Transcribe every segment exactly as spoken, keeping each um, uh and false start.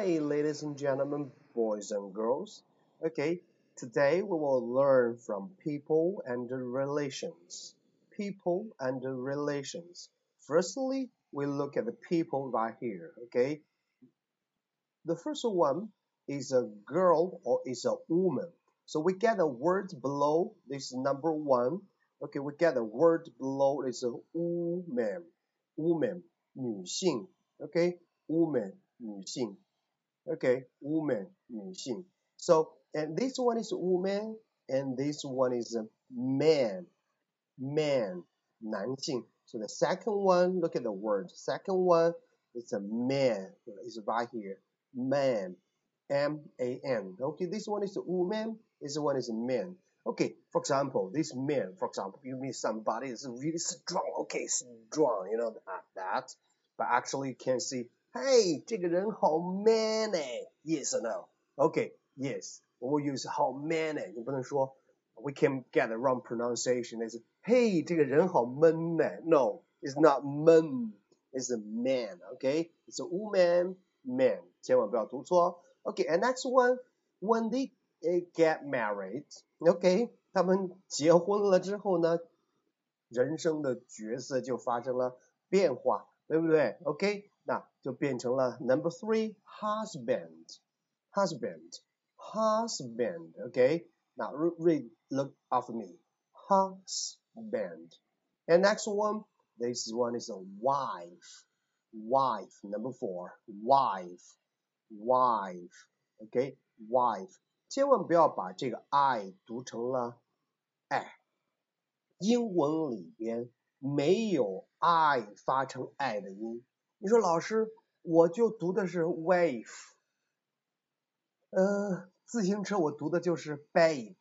Hi, ladies and gentlemen, boys and girls. Okay, today we will learn from people and relations. People and relations. Firstly, we look at the people right here. Okay, the first one is a girl or is a woman. So we get a word below this number one. Okay, we get a word below is a woman, woman, 女性. Okay, woman, 女性. Okay, woman, 女性. So, and this one is woman, and this one is a man, man, 男性. So the second one, look at the word. Second one is a man. It's right here. Man, M A N. Okay, this one is a woman. This one is a man. Okay, for example, this man, for example, you mean somebody is really strong. Okay, strong, you know that. that. But actually, you can see, hey, 这个人好 man 哎 ，yes or no? Okay, yes. We will use 好 man 哎，你不能说 we can get the wrong pronunciation. It's hey, 这个人好闷哎 No, it's not 闷 it's a man. Okay, it's a woman, man. 千万不要读错。Okay, and next one, when they get married, okay, 他们结婚了之后呢，人生的角色就发生了变化，对不对 ？OK， 那就变成了 number three husband husband husband OK， now read look after me husband and next one this one is a wife wife number four wife wife OK wife 千万不要把这个 I 读成了 I。英文里边没有 I 发成 I 的音。你说老师，我就读的是 wave， 呃，自行车我读的就是 bike，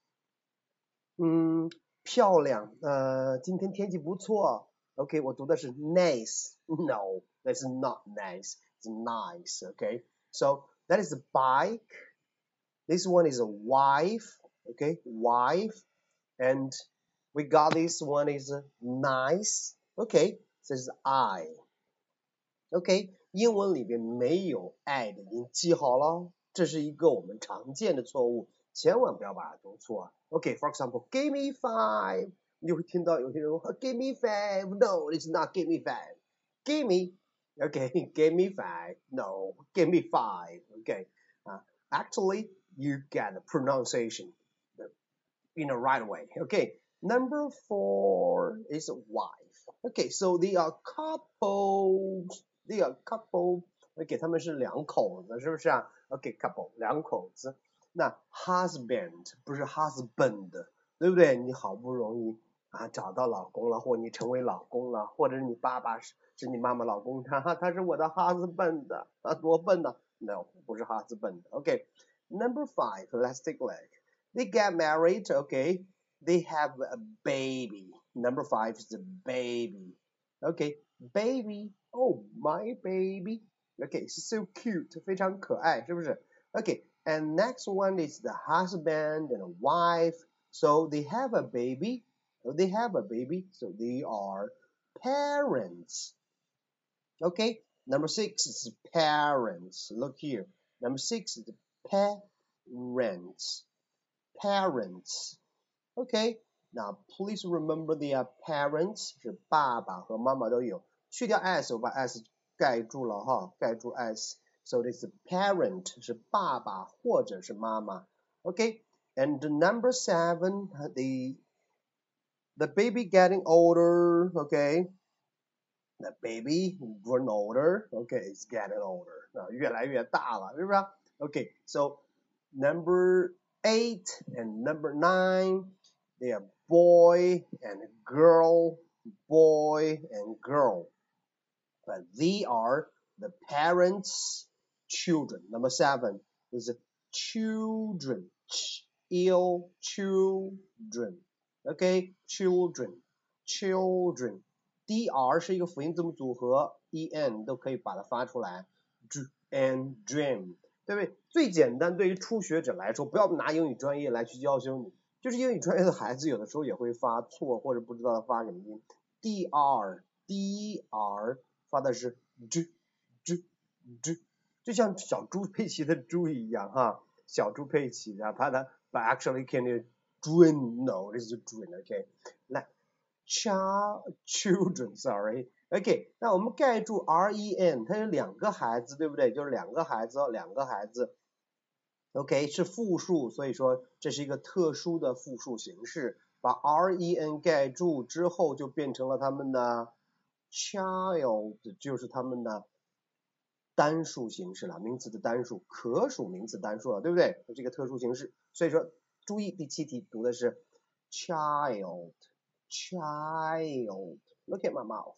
嗯，漂亮，呃，今天天气不错 ，OK， 我读的是 nice，no， that's not nice, it's nice, okay, so that is a bike, this one is a wife, okay, wife, and we got this one is nice. Okay, this is I. Okay, 英文里边没有 I 的音，记好了，这是一个我们常见的错误，千万不要把它读错。Okay, for example, give me five. 你就会听到有些人说 give me five. No, it's not give me five. Give me. Okay, give me five. No, give me five. Okay, uh, actually, you get the pronunciation in the right way. Okay. Number four is wife. Okay, so they are couples. They are couple. Okay, 他们是两口子，是不是啊 ？Okay, couple 两口子。那 husband 不是 husband， 对不对？你好不容易啊找到老公了，或你成为老公了，或者你爸爸是是你妈妈老公，他他是我的 husband 啊，多笨呢 ？No， 不是 husband。Okay, number five, let's take a look. They get married. Okay. They have a baby. Number five is the baby. Okay, baby. Oh, my baby. Okay, so cute. 非常可爱，是不是 Okay, and next one is the husband and a wife. So they have a baby. They have a baby. So they are parents. Okay, number six is parents. Look here. Number six is parents. Parents. Okay, now please remember their parents 是爸爸和妈妈都有，去掉 s 我把 s 盖住了哈，盖住 s。So this parent 是爸爸或者是妈妈。Okay, and number seven, the the baby getting older. Okay, the baby grown older. Okay, it's getting older. 啊，越来越大了，是不是 ？Okay, so number eight and number nine. They are boy and girl, boy and girl. But they are the parents' children. Number seven is children. Ill children. Okay, children, children. dr 是一个辅音字母组合 en 都可以把它发出来 and dream 对不对？最简单对于初学者来说，不要拿英语专业来去教修你。就是英语专业的孩子有的时候也会发错或者不知道他发什么音 dr dr 发的是 j j j 就像小猪佩奇的猪一样哈，小猪佩奇的，它的 but actually can you twin no this is twin OK 来 child children sorry OK 那我们盖住 ren 它有两个孩子对不对？就是两个孩子两个孩子 OK 是复数，所以说这是一个特殊的复数形式，把 ren 盖住之后就变成了他们的 child 就是他们的单数形式了，名词的单数，可数名词单数了，对不对？这是一个特殊形式，所以说注意第七题读的是 child child look at my mouth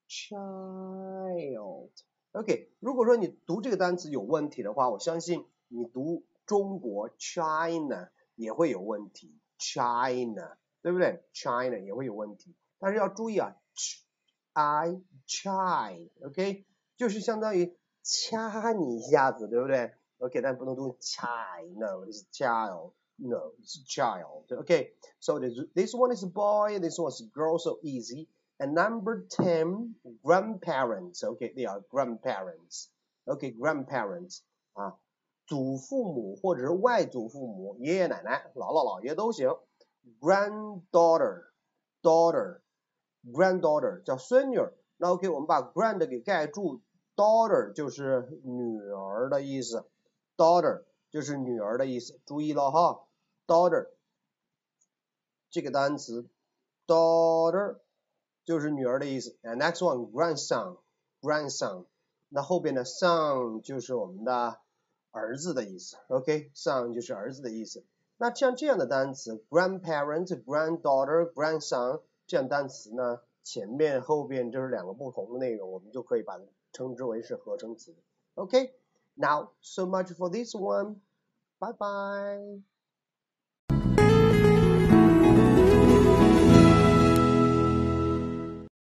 child OK 如果说你读这个单词有问题的话，我相信你读中国 China 也会有问题 China 对不对 China 也会有问题，但是要注意啊 I chai OK 就是相当于掐你一下子对不对 OK 但不能读 chai no it's child no it's child OK so this, this one is a boy this one is a girl so easy and number ten grandparents OK they are grandparents OK grandparents 啊祖父母或者是外祖父母爷爷奶奶姥姥姥爷都行 granddaughter daughter granddaughter 叫孙女那 OK 我们把 grand 给盖住 daughter 就是女儿的意思 daughter 就是女儿的意思注意了哈 daughter 这个单词 daughter 就是女儿的意思 and next one grandson grandson 那后边的 son 就是我们的儿子的意思 OK son 就是儿子的意思那像这样的单词 grandparent granddaughter grandson 这样单词呢前面后边就是两个不同的内容我们就可以把它称之为是合成词 OK now so much for this one bye bye